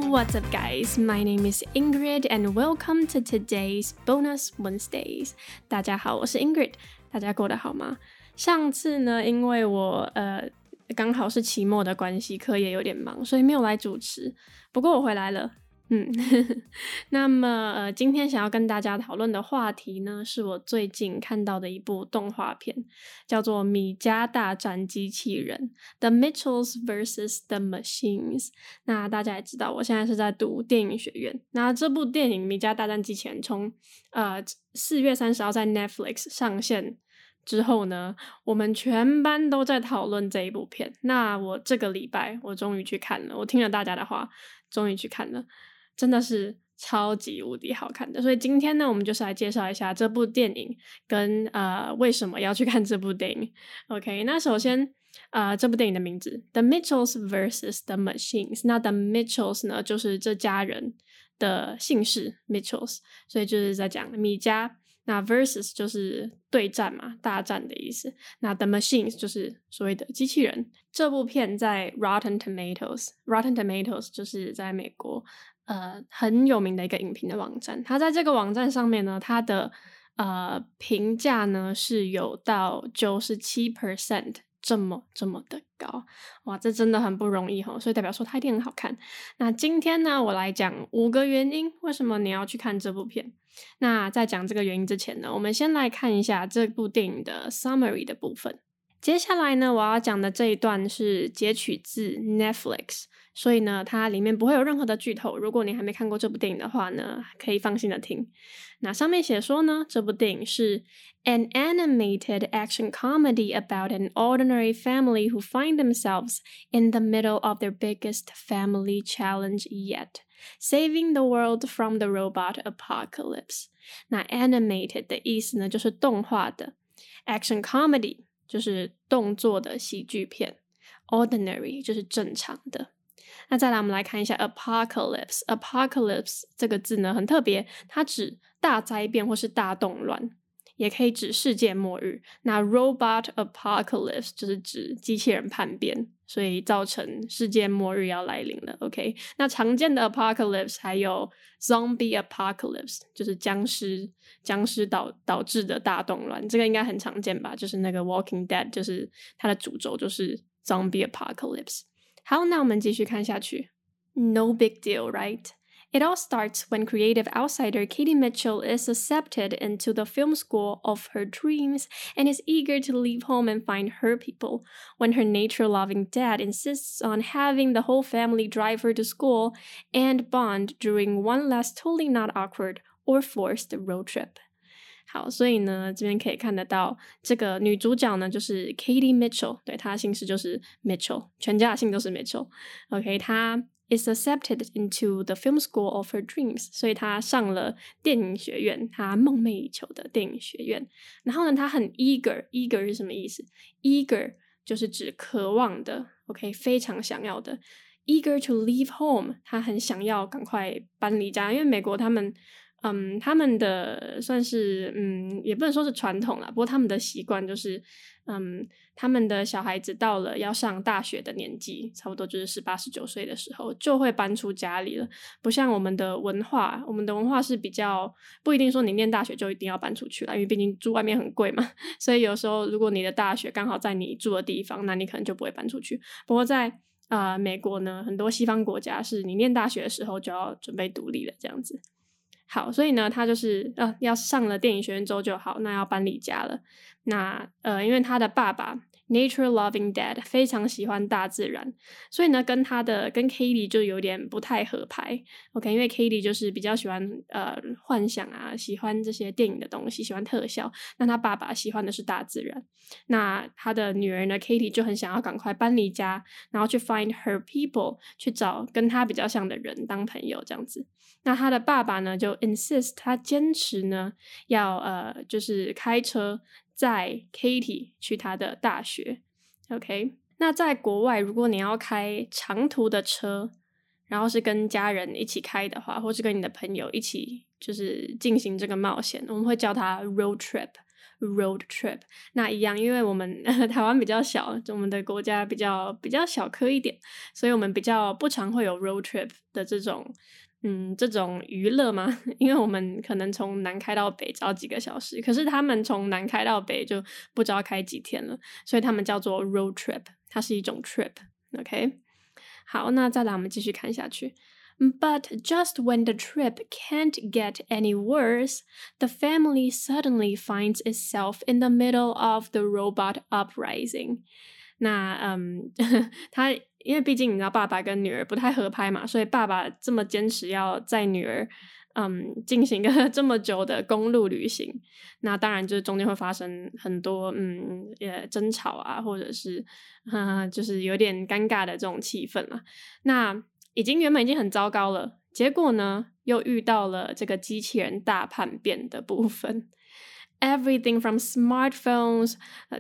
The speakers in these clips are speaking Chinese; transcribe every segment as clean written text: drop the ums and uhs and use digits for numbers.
What's up, guys? My name is Ingrid, and welcome to today's Bonus Wednesdays. 大家好，我是 Ingrid， 大家过得好吗？上次呢，因为我刚好是期末的关系，课业有点忙，所以没有来主持。不过我回来了。那么今天想要跟大家讨论的话题呢，是我最近看到的一部动画片，叫做《米家大战机器人》The Mitchells vs. The Machines。那大家也知道，我现在是在读电影学院。那这部电影《米家大战机器人》从4月30号在 Netflix 上线之后呢，我们全班都在讨论这一部片。那我这个礼拜我终于去看了，我听了大家的话，终于去看了。真的是超级无敌好看的，所以今天呢，我们就是来介绍一下这部电影跟为什么要去看这部电影。OK， 那首先这部电影的名字 The Mitchells vs. The Machines。那 The Mitchells 呢，就是这家人的姓氏 Mitchells， 所以就是在讲米家。那 versus 就是对战嘛，大战的意思。那 the machines 就是所谓的机器人。这部片在 Rotten Tomatoes 就是在美国很有名的一个影评的网站。它在这个网站上面呢，它的评价呢是有到 97% 这么的高。哇，这真的很不容易齁，所以代表说它一定很好看。那今天呢，我来讲5个原因为什么你要去看这部片。那在讲这个原因之前呢，我们先来看一下这部电影的 summary 的部分。接下来呢，我要讲的这一段是截取自 Netflix， 所以呢，它里面不会有任何的剧透。如果你还没看过这部电影的话呢，可以放心的听。那上面写说呢，这部电影是 an animated action comedy about an ordinary family who find themselves in the middle of their biggest family challenge yet.Saving the world from the robot apocalypse。 那 animated 的意思呢，就是动画的。 action comedy 就是动作的喜剧片。 ordinary 就是正常的。那再来我们来看一下 apocalypse。 apocalypse 这个字呢很特别，它指大灾变或是大动乱，也可以指世界末日。那 robot apocalypse 就是指机器人叛变，所以造成世界末日要来临了。 OK， 那常见的 apocalypse 还有 zombie apocalypse， 就是僵尸导致的大动乱，这个应该很常见吧，就是那个 Walking Dead， 就是它的主轴就是 zombie apocalypse。 好，那我们继续看下去。 No big deal, right?It all starts when creative outsider Katie Mitchell is accepted into the film school of her dreams and is eager to leave home and find her people, when her nature-loving dad insists on having the whole family drive her to school and bond during one last totally not awkward or forced road trip. 好，所以呢，这边可以看得到这个女主角呢就是 Katie Mitchell， 对，她的姓氏就是 Mitchell， 全家的姓都是 Mitchell。 OK， 她is accepted into the film school of her dreams， 所以她上了电影学院，她梦寐以求的电影学院。然后呢，她很 eager 是什么意思？ eager 就是指渴望的 OK， 非常想要的。 eager to leave home， 她很想要赶快搬离家，因为美国他们的算是也不能说是传统啦，不过他们的习惯就是他们的小孩子到了要上大学的年纪，差不多就是18、19岁的时候就会搬出家里了。不像我们的文化是比较不一定说你念大学就一定要搬出去啦，因为毕竟住外面很贵嘛，所以有时候如果你的大学刚好在你住的地方，那你可能就不会搬出去。不过在美国呢，很多西方国家是你念大学的时候就要准备独立了这样子。好，所以呢他就是要上了电影学院之后就好，那要搬离家了。那因为他的爸爸 nature loving dad 非常喜欢大自然，所以呢跟 Katie 就有点不太合拍。 OK， 因为 Katie 就是比较喜欢幻想啊，喜欢这些电影的东西，喜欢特效，那他爸爸喜欢的是大自然。那他的女儿呢 Katie 就很想要赶快搬离家，然后去 find her people， 去找跟他比较像的人当朋友这样子。那他的爸爸呢就 insist， 他坚持呢要就是开车载 Katie 去他的大学。 OK， 那在国外如果你要开长途的车，然后是跟家人一起开的话，或是跟你的朋友一起就是进行这个冒险，我们会叫它 road trip。 road trip。那一样，因为我们台湾比较小，我们的国家比较小颗一点，所以我们比较不常会有 road trip 的这种娱乐嘛，因为我们可能从南开到北只要几个小时，可是他们从南开到北就不知道开几天了，所以他们叫做 road trip， 它是一种 trip。OK， 好，那再来我们继续看下去。But just when the trip can't get any worse, the family suddenly finds itself in the middle of the robot uprising. 那他因为毕竟你知道爸爸跟女儿不太合拍嘛，所以爸爸这么坚持要载女儿进行一个这么久的公路旅行，那当然就是中间会发生很多争吵啊，或者是就是有点尴尬的这种气氛啦。那原本已经很糟糕了，结果呢又遇到了这个机器人大叛变的部分。Everything from smartphones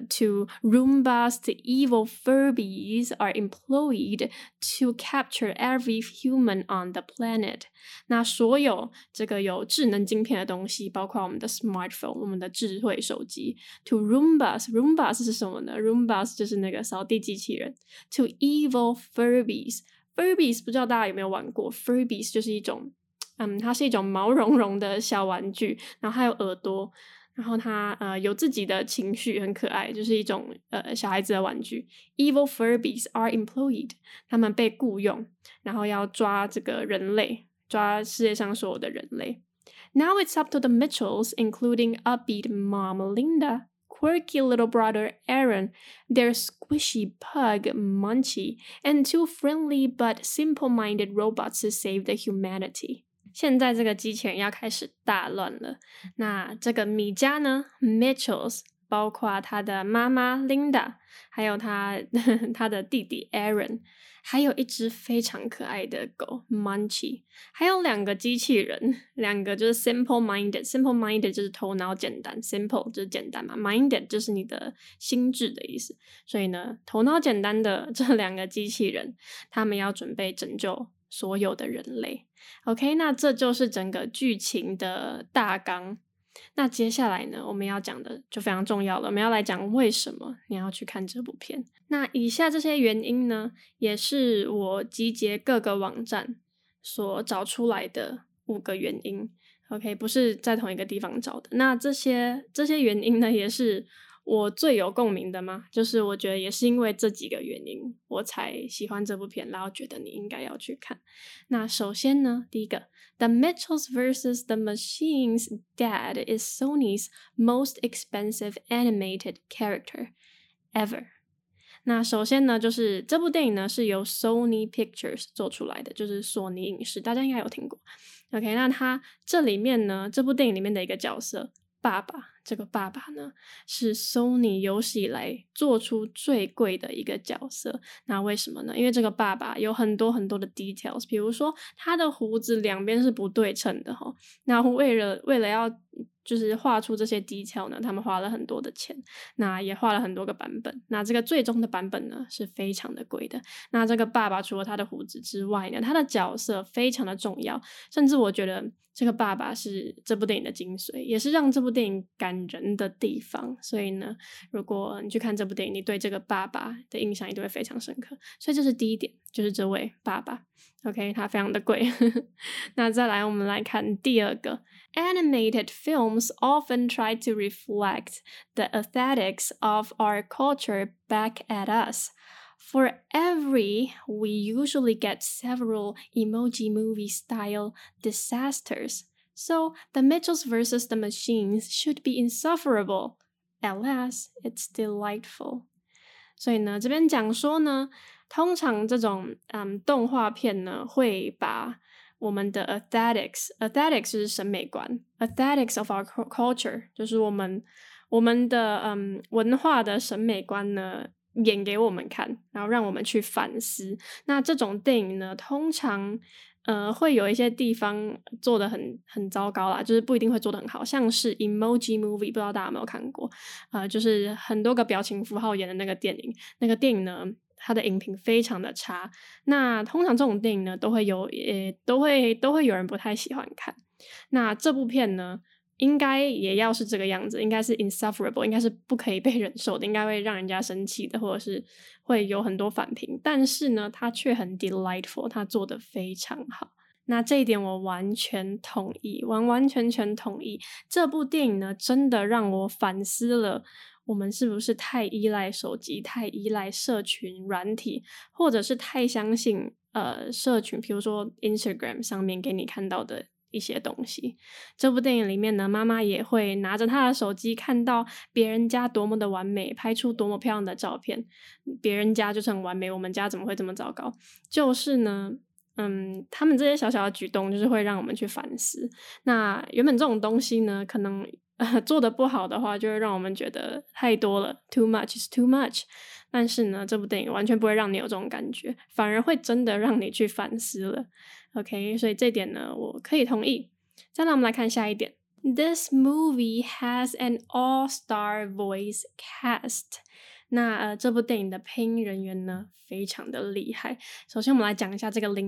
to Roombas to evil Furbies are employed to capture every human on the planet. 那所有这个有智能晶片的东西，包括我们的 smartphone， 我们的智慧手机 ，to Roombas 是什么呢？ Roombas 就是那个扫地机器人 ，to evil Furbies。Furbies 不知道大家有没有玩过 ？Furbies 就是一种，它是一种毛茸茸的小玩具，然后它有耳朵，然后它有自己的情绪，很可爱，就是一种小孩子的玩具。Evil Furbies are employed， 他们被雇佣，然后要抓这个人类，抓世界上所有的人类。Now it's up to the Mitchells, including upbeat mom Linda.Quirky little brother Aaron, their squishy pug Munchie, and two friendly but simple-minded robots to save the humanity. 现在这个机器人要开始大乱了。那这个米家呢 ，Mitchells， 包括他的妈妈 Linda， 还有他的弟弟 Aaron， 还有一只非常可爱的狗 Munchie， 还有两个机器人，两个就是 simple-minded 就是头脑简单 ，simple 就是简单嘛 ，minded 就是你的心智的意思。所以呢，头脑简单的这两个机器人，他们要准备拯救所有的人类。OK， 那这就是整个剧情的大纲。那接下来呢，我们要讲的就非常重要了，我们要来讲为什么你要去看这部片。那以下这些原因呢，也是我集结各个网站所找出来的5个原因。OK， 不是在同一个地方找的。那这些原因呢，也是我最有共鸣的嘛，就是我觉得也是因为这几个原因，我才喜欢这部片，然后觉得你应该要去看。那首先呢，第一个 The Mitchells vs. the Machines Dad is Sony's most expensive animated character ever. 那首先呢，就是这部电影呢是由 Sony Pictures 做出来的，就是索尼影视，大家应该有听过。OK， 那它这里面呢，这部电影里面的一个角色爸爸，这个爸爸呢是 Sony 有史以来做出最贵的一个角色。那为什么呢？因为这个爸爸有很多很多的 details， 比如说他的胡子两边是不对称的齁。那为了要就是画出这些 detail 呢，他们花了很多的钱，那也画了很多个版本。那这个最终的版本呢是非常的贵的。那这个爸爸除了他的胡子之外呢，他的角色非常的重要，甚至我觉得这个爸爸是这部电影的精髓，也是让这部电影感人的地方。所以呢，如果你去看这部电影，你对这个爸爸的印象一定会非常深刻。所以这是第一点，就是这位爸爸 OK， 他非常的贵那再来我们来看第二个 Animated films often try to reflect the aesthetics of our culture back at us.For every, we usually get several emoji movie style disasters. So the Mitchells vs. the Machines should be insufferable. Alas, it's delightful. 所以呢，这边讲说呢，通常这种动画片呢，会把我们的 aesthetics 是审美观 aesthetics of our culture 就是我们的文化的审美观呢演给我们看，然后让我们去反思。那这种电影呢，通常会有一些地方做得很糟糕啦，就是不一定会做得很好，像是 Emoji Movie， 不知道大家有没有看过？就是很多个表情符号演的那个电影，那个电影呢，它的影评非常的差。那通常这种电影呢，都会有人不太喜欢看。那这部片呢， 应该也要是这个样子，应该是 insufferable， 应该是不可以被忍受的，应该会让人家生气的，或者是会有很多反评。但是呢，它却很 delightful， 它做得非常好。那这一点我完全同意，完完全全同意。这部电影呢，真的让我反思了我们是不是太依赖手机，太依赖社群软体，或者是太相信社群，比如说 Instagram 上面给你看到的一些东西。这部电影里面呢，妈妈也会拿着她的手机，看到别人家多么的完美，拍出多么漂亮的照片，别人家就是很完美，我们家怎么会这么糟糕？就是呢他们这些小小的举动就是会让我们去反思。那原本这种东西呢，可能做得不好的话，就会让我们觉得太多了， too much is too much。 但是呢，这部电影完全不会让你有这种感觉，反而会真的让你去反思了。 OK， 所以这点呢我可以同意。再来我们来看下一点， This movie has an all-star voice cast。那这部电影的配音人员呢非常的厉害。首先我们来讲一下这个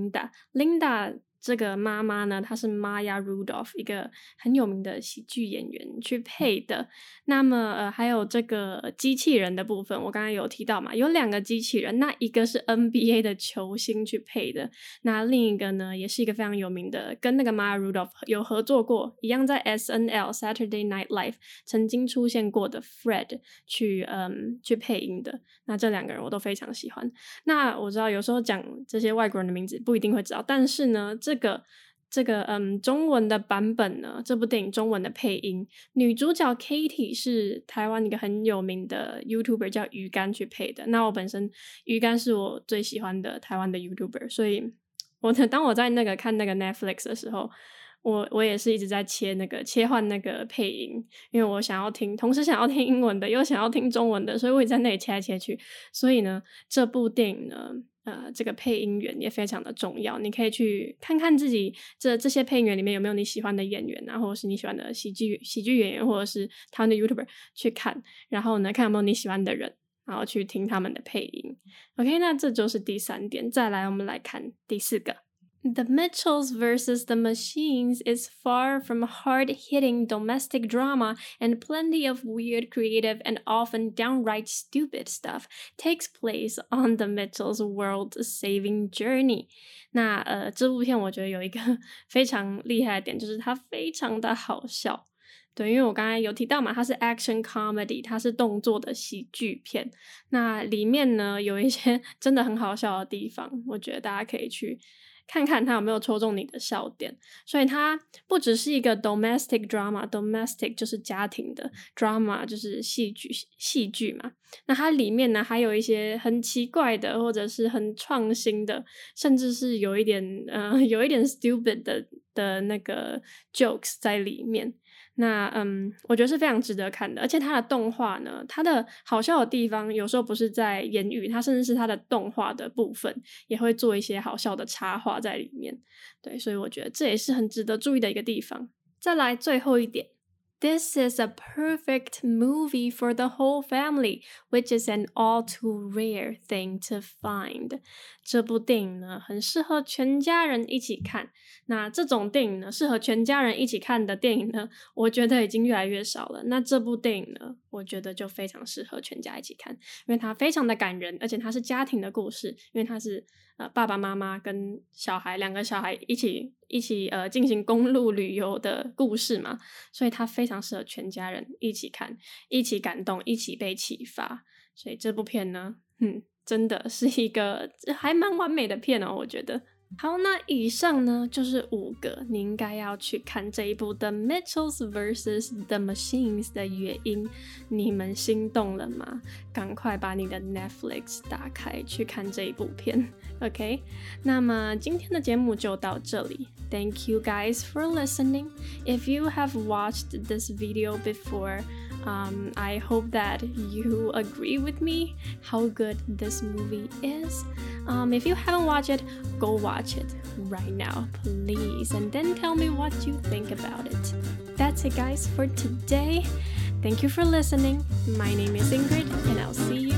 Linda 这个妈妈呢，她是 Maya Rudolph， 一个很有名的喜剧演员去配的。那么还有这个机器人的部分，我刚才有提到嘛，有2个机器人，那一个是 NBA 的球星去配的，那另一个呢也是一个非常有名的，跟那个 Maya Rudolph 有合作过，一样在 SNL Saturday Night Live 曾经出现过的 Fred 去配音的。那这2个人我都非常喜欢。那我知道有时候讲这些外国人的名字不一定会知道，但是呢这个中文的版本呢，这部电影中文的配音，女主角 Katie 是台湾一个很有名的 YouTuber 叫鱼竿去配的。那我本身鱼竿是我最喜欢的台湾的 YouTuber， 所以当我在看那个 Netflix 的时候，我也是一直在切换那个配音，因为我同时想要听英文的又想要听中文的，所以我也在那里切来切去。所以呢，这部电影呢这个配音员也非常的重要，你可以去看看自己这些配音员里面有没有你喜欢的演员啊，或者是你喜欢的喜剧演员，或者是台湾的 YouTuber 去看，然后呢看有没有你喜欢的人，然后去听他们的配音。 OK， 那这就是第3点。再来我们来看第4个， The Mitchells vs. the Machines is far from hard-hitting domestic drama, and plenty of weird, creative, and often downright stupid stuff takes place on the Mitchells' world-saving journey. 那这部片我觉得有一个非常厉害的点，就是它非常的好笑。对，因为我刚才有提到嘛，它是 action comedy， 它是动作的喜剧片。那里面呢有一些真的很好笑的地方，我觉得大家可以去看看它有没有戳中你的笑点。所以它不只是一个 domestic drama， domestic 就是家庭的， drama 就是戏剧嘛。那它里面呢还有一些很奇怪的，或者是很创新的，甚至是有一点 stupid 的那个 jokes 在里面。那我觉得是非常值得看的。而且它的动画呢，它的好笑的地方有时候不是在言语，它甚至是它的动画的部分也会做一些好笑的插画在里面。对，所以我觉得这也是很值得注意的一个地方。再来最后一点， This is a perfect movie for the whole family, which is an all too rare thing to find. 这部电影呢很适合全家人一起看。那这种电影呢，适合全家人一起看的电影呢，我觉得已经越来越少了。那这部电影呢，我觉得就非常适合全家一起看，因为它非常的感人，而且它是家庭的故事，因为它是爸爸妈妈跟2个小孩一起进行公路旅游的故事嘛，所以它非常适合全家人一起看，一起感动，一起被启发。所以这部片呢真的是一个还蛮完美的片哦，我觉得。好，那以上呢就是5个你应该要去看这一部 The Mitchells vs. the Machines 的原因。你们心动了吗？赶快把你的 Netflix 打开去看这一部片。 OK， 那么今天的节目就到这里。 Thank you guys for listening. If you have watched this video before, I hope that you agree with me how good this movie is. If you haven't watched it, go watch it right now, please, and then tell me what you think about it. That's it, guys, for today. Thank you for listening. My name is Ingrid, and I'll see you